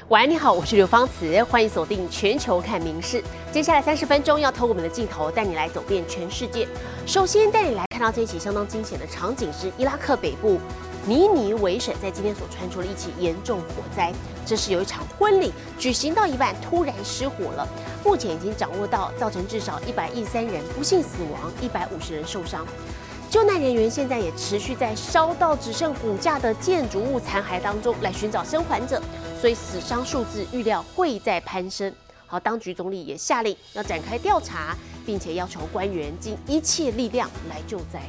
晚安，你好，我是刘芳慈，欢迎锁定全球看名事。接下来30分钟要透过我们的镜头带你来走遍全世界。首先带你来看到这一起相当惊险的场景是伊拉克北部尼尼微省在今天所传出了一起严重火灾。这是有一场婚礼举行到一半突然失火了，目前已经掌握到造成至少113人不幸死亡，150人受伤。救难人员现在也持续在烧到只剩骨架的建筑物残骸当中来寻找生还者，所以死伤数字预料会再攀升。好，当局总理也下令要展开调查，并且要求官员尽一切力量来救灾。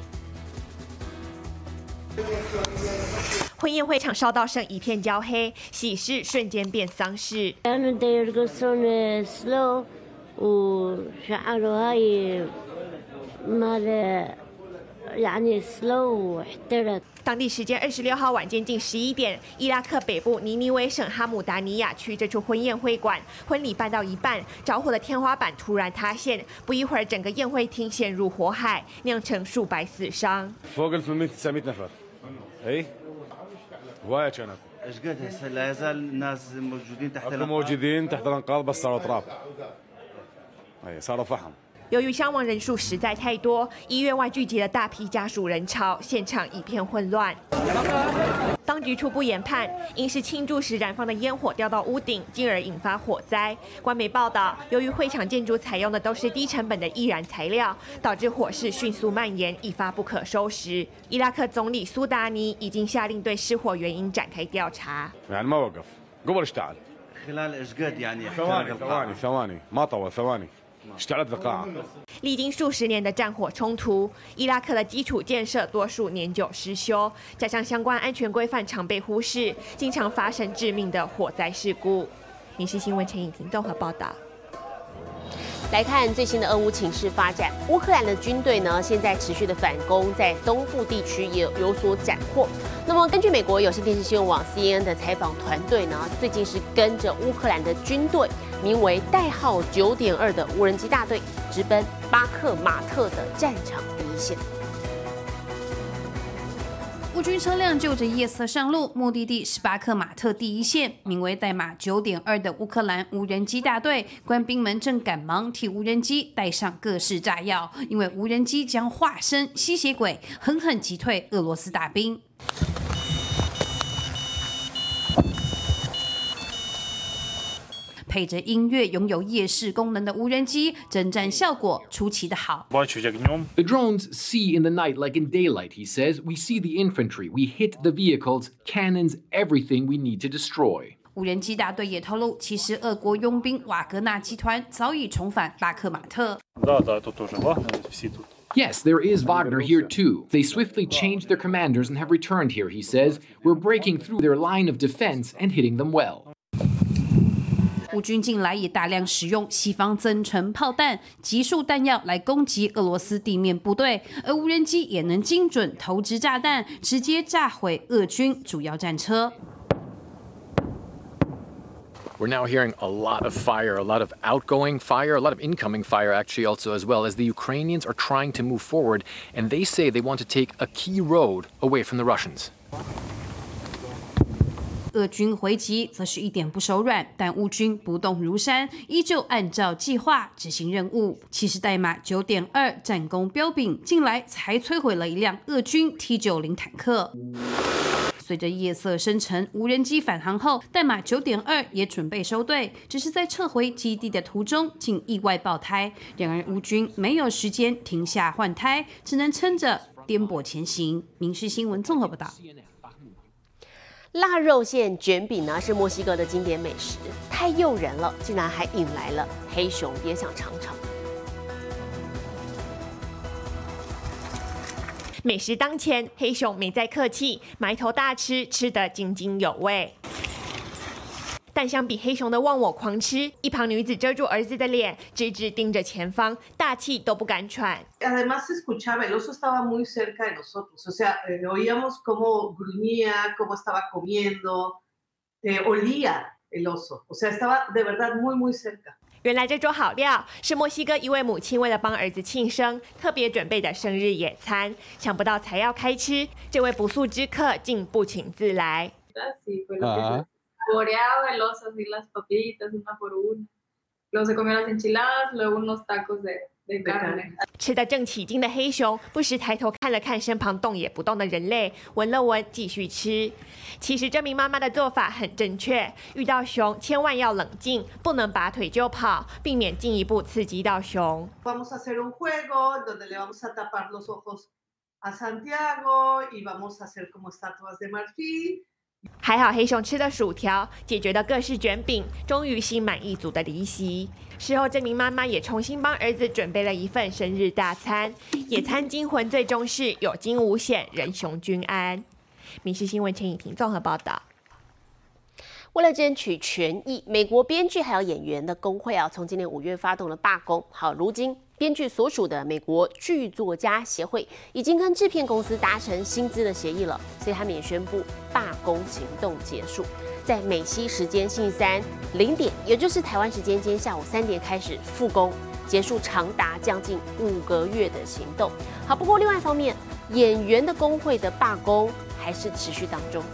婚宴会场烧到剩一片焦黑，喜事瞬间变丧事。当地时间26号晚间近11点，伊拉克北部尼尼微省哈姆达尼亚区这处婚宴会馆，婚礼办到一半，着火的天花板突然塌陷，不一会儿，整个宴会厅陷入火海，酿成数百死伤。 هواية كانت ايش قد هسه لا يزال الناس موجودين تحت موجودين تحت الانقاض بس صاروا تراب اي صاروا فحم。 由于伤亡人数实在太多，医院外聚集了大批家属人潮，现场一片混乱。当局初步研判，因是庆祝时燃放的烟火掉到屋顶，进而引发火灾。官媒报道，由于会场建筑采用的都是低成本的易燃材料，导致火势迅速蔓延，一发不可收拾。伊拉克总理苏达尼已经下令对失火原因展开调查。 يعني ما وقف قبل اشتعل خلال ايش قد يعني ثواني ما طول ثواني اشتعلت القاعة。 历经数十年的战火冲突，伊拉克的基础建设多数年久失修，加上相关安全规范常被忽视，经常发生致命的火灾事故。民视新闻陈以婷综合报道。 来看最新的俄乌情势发展，乌克兰的军队呢，现在持续的反攻，在东部地区也有所斩获。那么，根据美国有线电视新闻网 CNN 的采访团队呢，最近是跟着乌克兰的军队，名为代号9.2的无人机大队，直奔巴克马特的战场第一线。 乌军车辆就着夜色上路，目的地是巴克马特第一线，名为代码9.2的乌克兰无人机大队，官兵们正赶忙替无人机带上各式炸药，因为无人机将化身吸血鬼，狠狠击退俄罗斯大兵。配着音乐，拥有夜视功能的无人机，征战效果出奇的好。 The drones see in the night like in daylight, he says. We see the infantry, we hit the vehicles, cannons, everything we need to destroy. 无人机大队也透露，其实俄国佣兵瓦格纳集团早已重返巴克马特。 Yes, there is Wagner here too. They swiftly changed their commanders and have returned here, he says. We're breaking through their line of defense and hitting them well. 乌军近来也大量使用西方增程炮弹、集束弹药来攻击俄罗斯地面部队，而无人机也能精准投掷炸弹，直接炸毁俄军主要战车。 We're now hearing a lot of fire, a lot of outgoing fire, a lot of incoming fire actually also as well, as the Ukrainians are trying to move forward, and they say they want to take a key road away from the Russians. 俄军回击则是一点不手软，但乌军不动如山，依旧按照计划执行任务。其实代码9.2战功彪炳，近来才摧毁了一辆俄军 T90 坦克。随着夜色深沉，无人机返航后，代码9.2也准备收队，只是在撤回基地的途中竟意外爆胎。然而乌军没有时间停下换胎，只能撑着颠簸前行。民视新闻综合报道。 腊肉馅卷饼呢是墨西哥的经典美食，太诱人了，竟然还引来了黑熊也想尝尝。 美食当前，黑熊没再客气，埋头大吃，吃得津津有味。但相比黑熊的忘我狂吃，一旁女子遮住儿子的脸，直直盯着前方，大气都不敢喘。 Además se escuchaba, el oso estaba muy cerca de nosotros, o sea, oíamos cómo gruñía, cómo estaba comiendo, olía el oso, o sea, estaba de verdad muy, muy cerca. 原来这桌好料是墨西哥一位母亲为了帮儿子庆生特别准备的生日野餐，想不到才要开吃，这位不速之客竟不请自来。 saboreaba el oso así las papitas una por una. Luego se comió las enchiladas, luego unos tacos de carne。 吃得正起劲的黑熊，不时抬头看了看身旁动也不动的人类，闻了闻，继续吃。其实这名妈妈的做法很正确，遇到熊千万要冷静，不能拔腿就跑，避免进一步刺激到熊。 Vamos a hacer un juego donde le vamos a tapar los ojos a Santiago y vamos a hacer como estatuas de marfil。 还好黑熊吃的薯条解决了各式卷饼，终于心满意足的离席。事后，这名妈妈也重新帮儿子准备了一份生日大餐。野餐惊魂最终是有惊无险，人熊均安。民视新闻陈以婷综合报道。 为了争取权益，美国编剧还有演员的工会从今年5月发动了罢工。好，如今编剧所属的美国剧作家协会已经跟制片公司达成薪资的协议了，所以他们也宣布罢工行动结束，在美西时间星期三0点，也就是台湾时间今天下午3点开始复工，结束长达将近5个月的行动。好，不过另外一方面，演员的工会的罢工还是持续当中。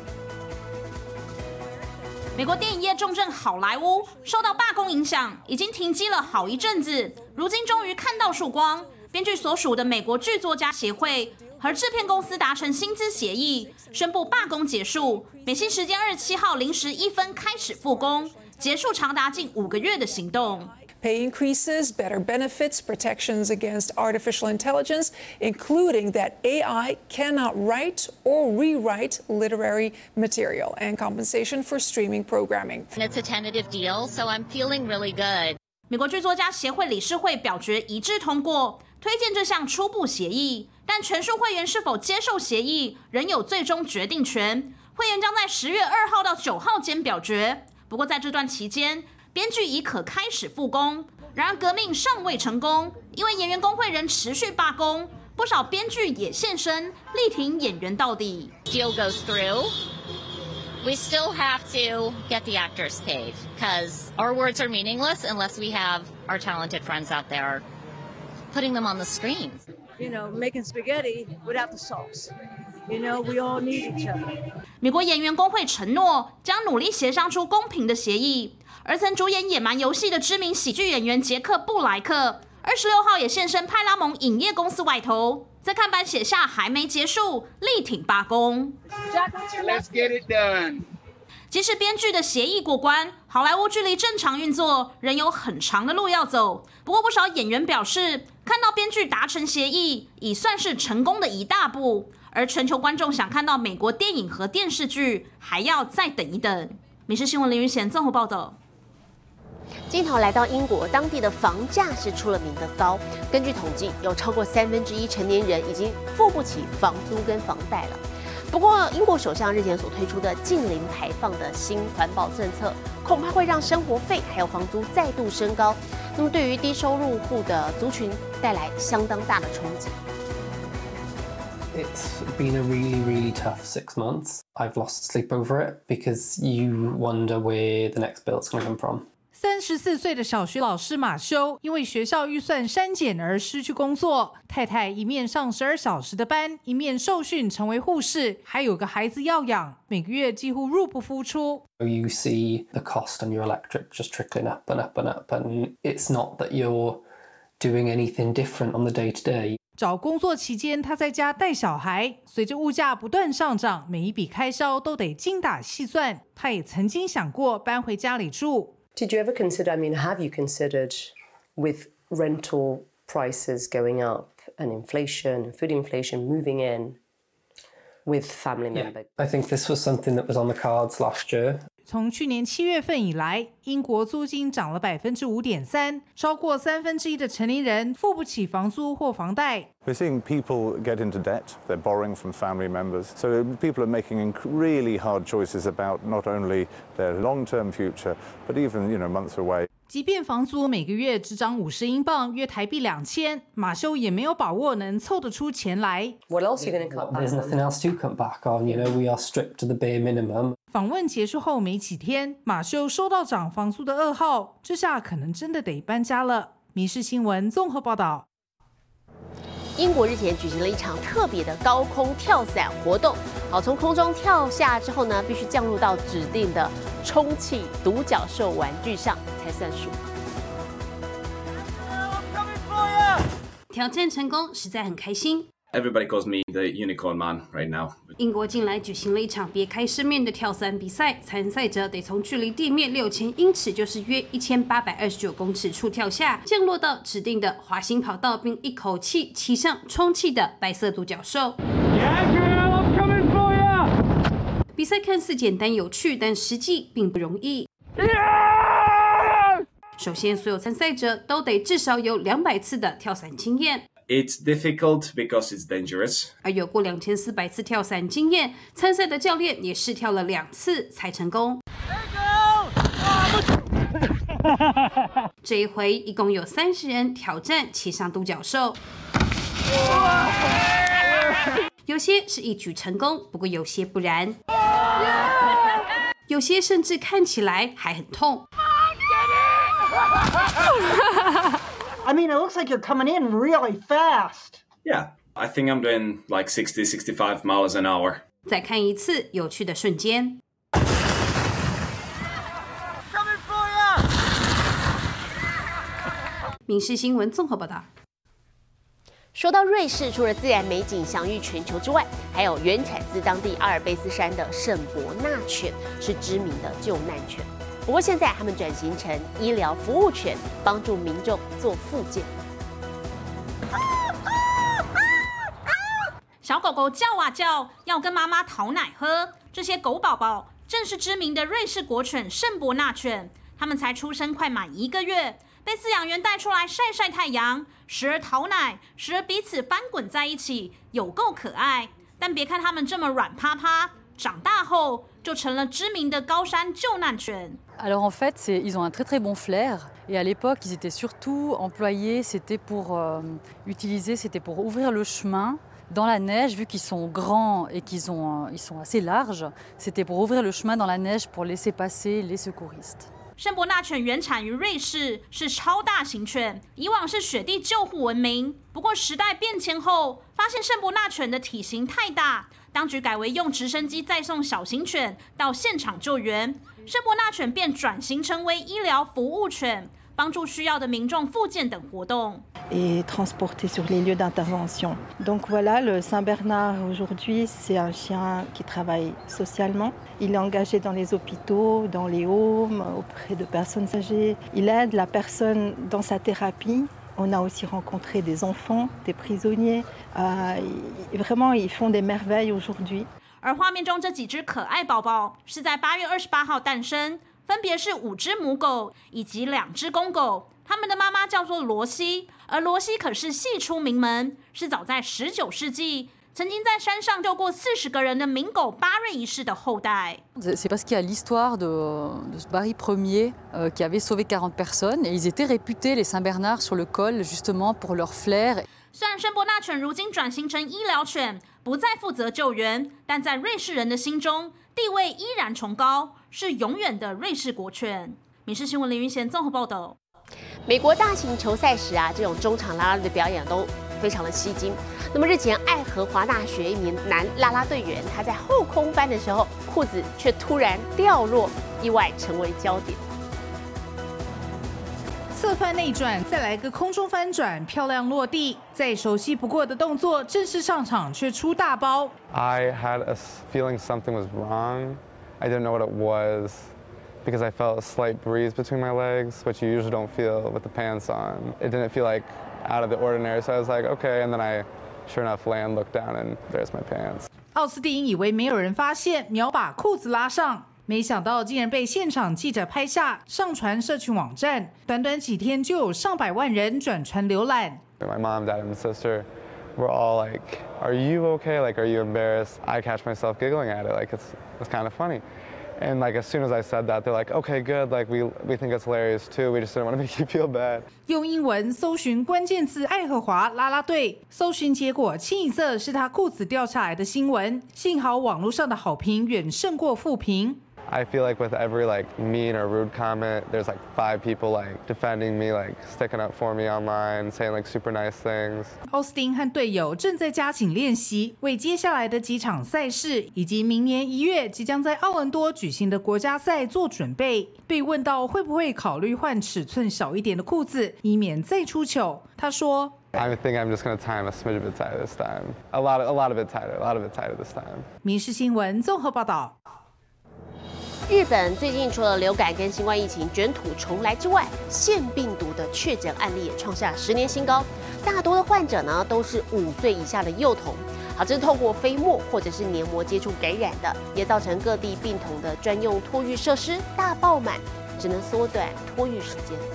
美国电影业重镇好莱坞受到罢工影响，已经停机了好一阵子，如今终于看到曙光。编剧所属的美国剧作家协会和制片公司达成薪资协议，宣布罢工结束。美西时间27号0时1分开始复工，结束长达近5个月的行动。 Pay increases, better benefits, protections against artificial intelligence, including that AI cannot write or rewrite literary material, and compensation for streaming programming. It's a tentative deal, so I'm feeling really good. 美国剧作家协会理事会表决一致通过，推荐这项初步协议，但全数会员是否接受协议仍有最终决定权。会员将在10月2号到9号间表决。不过在这段期间，编剧已可开始复工，然而革命尚未成功，因为演员工会仍持续罢工，不少编剧也现身力挺演员到底。 Deal goes through. We still have to get the actors paid because our words are meaningless unless we have our talented friends out there putting them on the screen. You know, making spaghetti without the sauce. You know, we all need each other. 美国演员工会承诺将努力协商出公平的协议。而曾主演《野蛮游戏》的知名喜剧演员杰克·布莱克，26号也现身派拉蒙影业公司外头，在看板写下还没结束，力挺罢工。 Let's get it done. 即使编剧的协议过关，好莱坞距离正常运作仍有很长的路要走。不过不少演员表示，看到编剧达成协议，已算是成功的一大步。而全球观众想看到美国电影和电视剧，还要再等一等。民视新闻林云贤综合报道。 镜头来到英国，当地的房价是出了名的高。根据统计，有超过1/3成年人已经付不起房租跟房贷了。不过，英国首相日前所推出的近零排放的新环保政策，恐怕会让生活费还有房租再度升高。那么，对于低收入户的族群带来相当大的冲击。 It's been a really, really tough 6 months. I've lost sleep over it because you wonder where the next bill's going to come from. 34岁的小学老师马修因为学校预算删减而失去工作，太太一面上12小时的班，一面受训成为护士，还有个孩子要养，每个月几乎入不敷出。 You see the cost on your electric just trickling up and up and up, and it's not that you're doing anything different on the day-to-day. 找工作期间，他在家带小孩，随着物价不断上涨，每一笔开销都得精打细算。他也曾经想过搬回家里住。 Did you ever consider, I mean, have you considered with rental prices going up and inflation and food inflation moving in with family members? I think this was something that was on the cards last year. 从去年7月份以来，英国租金涨了5.3%，超过1/3的成年人付不起房租或房贷。 We're seeing people get into debt. They're borrowing from family members. So people are making really hard choices about not only their long-term future, but even, months away. 即便房租每个月只涨50英镑，约台币2000，马修也没有把握能凑得出钱来。 What else are you going to cut back on? There's nothing else to cut back on. We are stripped to the bare minimum. 访问结束后没几天，马修收到涨房租的噩耗，这下可能真的得搬家了。民视新闻综合报道。 英国日前举行了一场特别的高空跳伞活动， 好，从空中跳下之后呢，必须降落到指定的充气独角兽玩具上才算数。 挑战成功，实在很开心。 Everybody calls me the unicorn man right now. 英国近来举行了一场别开生面的跳伞比赛，参赛者得从距离地面6000英尺，就是约1829公尺处跳下，降落到指定的滑行跑道，并一口气骑上充气的白色独角兽。比赛看似简单有趣，但实际并不容易。首先，所有参赛者都得至少有200次的跳伞经验。 It's difficult because it's dangerous. 而有过2400次跳伞经验，参赛的教练也试跳了2次才成功。这一回一共有30人挑战骑上独角兽，有些是一举成功，不过有些不然，有些甚至看起来还很痛。 I mean, it looks like you're coming in really fast. Yeah, I think I'm doing like 60, 65 miles an hour. 再看一次有趣的瞬间。民视新闻综合报道。 说到瑞士，除了自然美景享誉全球之外，还有原产自当地阿尔卑斯山的圣伯纳犬，是知名的救难犬。不过现在他们转型成医疗服务犬，帮助民众做复健。 小狗狗叫啊叫，要跟妈妈讨奶喝。这些狗宝宝正是知名的瑞士国犬圣伯纳犬，它们才出生快满1个月，被饲养员带出来晒晒太阳，时而讨奶，时而彼此翻滚在一起，有够可爱。但别看它们这么软趴趴，长大后就成了知名的高山救难犬。 Alors en fait, ils ont un très très bon flair. Et à l'époque, ils étaient surtout employés, c'était pour ouvrir le chemin dans la neige, vu qu'ils sont grands et ils sont assez larges. C'était pour ouvrir le chemin dans la neige pour laisser passer les secouristes. 圣伯纳犬原产于瑞士，是超大型犬，以往是雪地救护闻名。不过时代变迁后，发现圣伯纳犬的体型太大，当局改为用直升机载送小型犬到现场救援，圣伯纳犬便转型成为医疗服务犬，帮助需要的民众复健等活动。 Et transporté sur les lieux d'intervention. Donc voilà, le Saint-Bernard aujourd'hui, c'est un chien qui travaille socialement. Il est engagé dans les hôpitaux, dans les homes, auprès de personnes âgées. Il aide la personne dans sa thérapie. On a aussi rencontré des enfants, des prisonniers. Vraiment, ils font des merveilles aujourd'hui. 而画面中这几只可爱宝宝是在8月28号诞生，分别是5只母狗以及2只公狗。他们的妈妈叫做罗西，而罗西可是系出名门，是早在19世纪曾经在山上救过40个人的名狗巴瑞一世的后代。 C'est parce qu'il y a l'histoire de ce Barry Ier qui avait sauvé 40 personnes et ils étaient réputés les Saint-Bernard sur le col justement pour leur flair. 虽然圣伯纳犬如今转型成医疗犬，不再负责救援，但在瑞士人的心中地位依然崇高，是永远的瑞士国犬。民视新闻林云贤综合报道。 美国大型球赛时这种中场啦啦队的表演都非常的吸睛。那么日前，爱荷华大学一名男啦啦队员，他在后空翻的时候，裤子却突然掉落，意外成为焦点。 侧翻内转，再来个空中翻转，漂亮落地。再熟悉不过的动作，正式上场却出大包。 I had a feeling something was wrong. I didn't know what it was because I felt a slight breeze between my legs, which you usually don't feel with the pants on. It didn't feel like out of the ordinary, so I was like, okay. And then I, sure enough, land, looked down, and there's my pants. 奥斯汀以为没有人发现，秒把裤子拉上。没想到竟然被现场记者拍下，上传社群网站，短短几天就有上百万人转传浏览。 My mom, dad, and sister were all like, "Are you okay? Like, are you embarrassed?" I catch myself giggling at it, like it's kind of funny. And like as soon as I said that, they're like, "Okay, good. Like we think it's hilarious too. We just didn't want to make you feel bad." 用英文搜寻关键字爱荷华啦啦队，搜寻结果清一色是他裤子掉下来的新闻。幸好网络上的好评远胜过负评。 I feel like with every like mean or rude comment, there's like 5 people like defending me, like sticking up for me online, saying like super nice things. 奥斯汀和队友正在加紧练习，为接下来的几场赛事以及明年1月即将在奥文多举行的国家赛做准备。被问到会不会考虑换尺寸小一点的裤子，以免再出糗，他说。 I think I'm just going to tie them a smidge bit tighter this time. A lot of it tighter this time. 民视新闻综合报道。 日本最近除了流感跟新冠疫情卷土重来之外，腺病毒的确诊案例也创下10年新高。大多的患者呢都是5岁以下的幼童。好，这是透过飞沫或者是黏膜接触感染的，也造成各地病童的专用托育设施大爆满，只能缩短托育时间。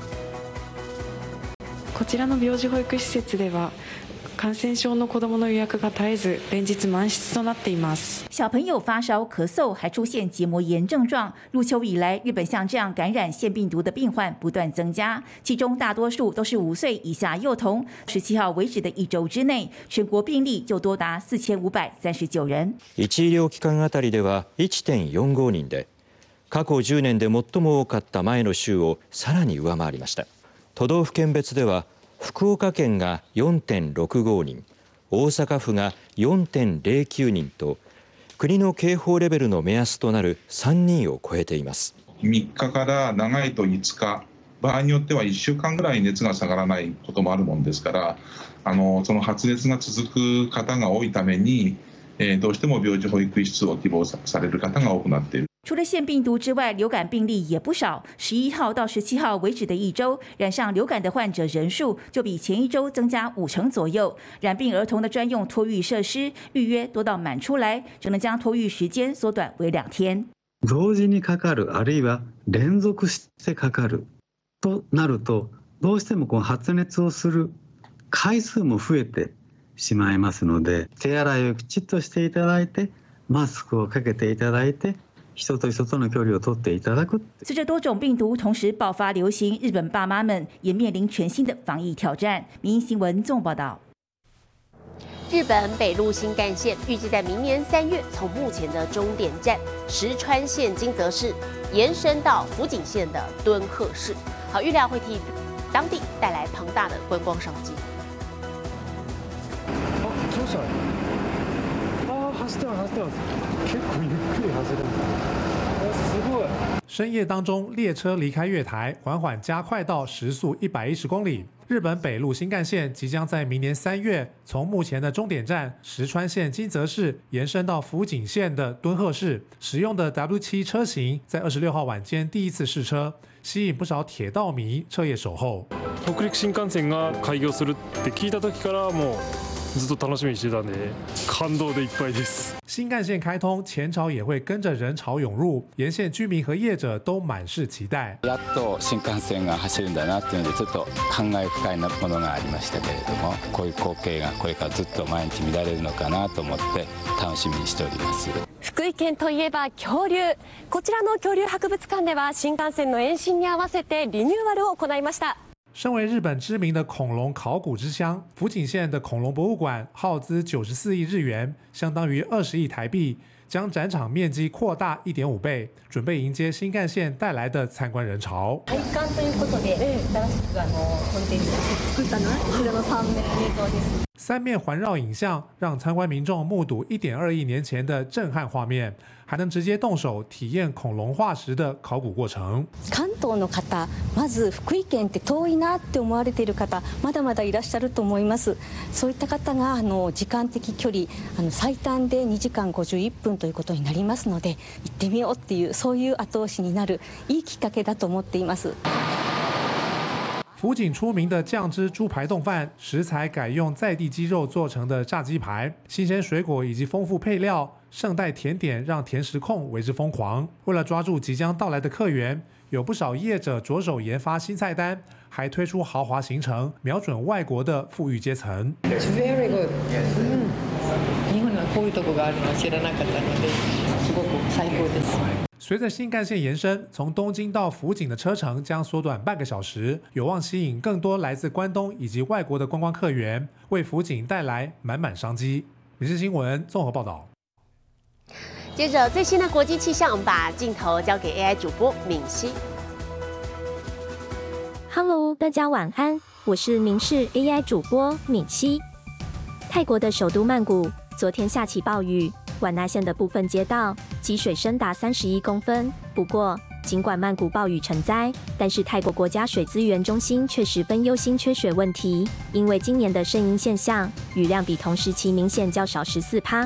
こちらの病児保育施設では感染症の子どもの予約が絶えず連日満室となっています。 小朋友发烧、咳嗽，还出现结膜炎症状。入秋以来，日本像这样感染腺病毒的病患不断增加，其中大多数都是5岁以下幼童。17号为止的1周之内，全国病例就多达4539人。 1医療機関あたりでは 1.45 人で、過去10年で最も多かった前の週をさらに上回りました。都道府県別では福岡県が 4.65 人、大阪府が 4.09 人と国の警報レベルの目安となる3人を超えています。 3日から長いと5日、場合によっては1週間ぐらい熱が下がらないこともあるもんですから、その発熱が続く方が多いために、どうしても病児保育室を希望される方が多くなっている。 除了腺病毒之外，流感病例也不少。11号到17号为止的1周，染上流感的患者人数就比前1周增加50%左右。染病儿童的专用托育设施预约多到满出来，只能将托育时间缩短为2天。 同時にかかる、あるいは連続してかかるとなると、どうしてもこの発熱をする回数も増えてしまいますので、手洗いをきちっとしていただいて、マスクをかけていただいて。人と人との距離を取っていただく。 随着多种病毒同时爆发流行，日本爸妈们也面临全新的防疫挑战。民营新闻综合报道。 日本北陆新干线预计在明年3月从目前的终点站石川县金泽市延伸到福井县的敦贺市，好，预料会替当地带来庞大的观光商机。 走ってます。結構ゆっくり走るんだ。すごい。 深夜当中，列车离开月台，缓缓加快到时速110公里。日本北陆新干线即将在明年3月从目前的终点站石川县金泽市延伸到福井县的敦贺市，使用的 W7 车型在26号晚间第一次试车，吸引不少铁道迷彻夜守候。 北陸新幹線が開業するって聞いた時からもうずっと楽しみにしてたんで感動でいっぱいです。 新干线开通，前朝也会跟着人潮涌入，沿线居民和业者都满是期待。 やっと新幹線が走るんだなっていうのでちょっと感慨深いものがありましたけれども、こういう光景がこれからずっと毎日見られるのかなと思って楽しみにしております。 福井県といえば恐竜。こちらの恐竜博物館では新幹線の延伸に合わせてリニューアルを行いました。 身为日本知名的恐龙考古之乡，福井县的恐龙博物馆耗资94亿日元，相当于20亿台币，将展场面积扩大1.5倍，准备迎接新干线带来的参观人潮。 体感ということで、新しくコンテンツ作ったのは後ろの3面映像です。 3面环绕影像让参观民众目睹1.2亿年前的震撼画面，还能直接动手体验恐龍化石的考古过程。 関東の方、まず福井県って遠いなって思われている方、まだまだいらっしゃると思います。そういった方が時間的距離最短で2時間51分ということになりますので、行ってみようっていうそういう後押しになるいいきっかけだと思っています。 福井出名的酱汁猪排冻饭，食材改用在地鸡肉做成的炸鸡排，新鲜水果以及丰富配料，圣代甜点让甜食控为之疯狂。为了抓住即将到来的客源，有不少业者着手研發新菜单，还推出豪华行程，瞄准外国的富裕阶层。 Very good. 日本はこういうとこがあるの知らなかったので、すごく最高です。 随着新干线延伸，从东京到福井的车程将缩短半个小时，有望吸引更多来自关东以及外国的观光客源，为福井带来满满商机。民视新闻综合报道。 接着最新的国际气象，我们把镜头交给 AI 主播敏熙。 Hello， 大家晚安，我是民视 AI 主播敏熙。泰国的首都曼谷昨天下起暴雨，晚纳县的部分街道积水深达31公分。不过，尽管曼谷暴雨成灾，但是泰国国家水资源中心却十分忧心缺水问题，因为今年的圣婴现象雨量比同时期明显较少14%。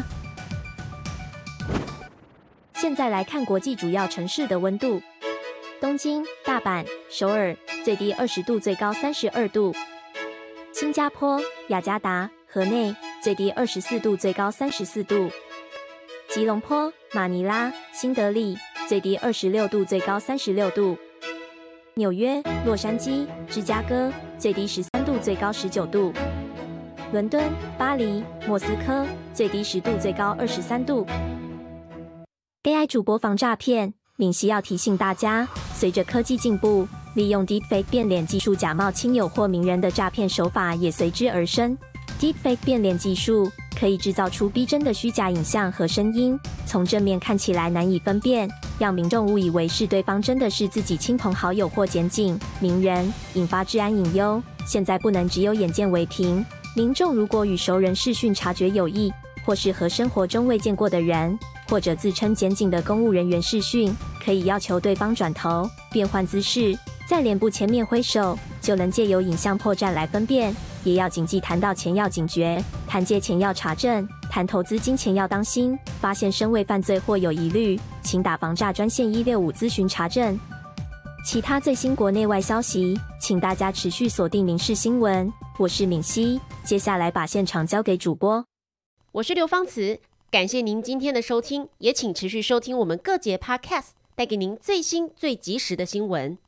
现在来看国际主要城市的温度。东京、大阪、首尔最低20度，最高32度；新加坡、雅加达、河内最低24度，最高34度；吉隆坡、马尼拉、新德里最低26度，最高36度；纽约、洛杉矶、芝加哥最低13度，最高19度；伦敦、巴黎、莫斯科最低10度，最高23度。AI 主播防诈骗，敏熙要提醒大家，随着科技进步，利用 Deepfake 变脸技术假冒亲友或名人的诈骗手法也随之而生。Deepfake 变脸技术可以制造出逼真的虚假影像和声音，从正面看起来难以分辨，让民众误以为是对方真的是自己亲朋好友或检警、名人，引发治安隐忧。现在不能只有眼见为凭，民众如果与熟人视讯察觉有异，或是和生活中未见过的人，或者自称检警的公务人员视讯，可以要求对方转头、变换姿势，在脸部前面挥手，就能借由影像破绽来分辨。也要谨记谈到前要警觉，谈借钱要查证，谈投资金钱要当心。发现身为犯罪或有疑虑，请打防诈专线165咨询查证。其他最新国内外消息，请大家持续锁定民视新闻。我是敏熙，接下来把现场交给主播。 我是刘芳慈，感谢您今天的收听，也请持续收听我们各节 Podcast， 带给您最新最及时的新闻。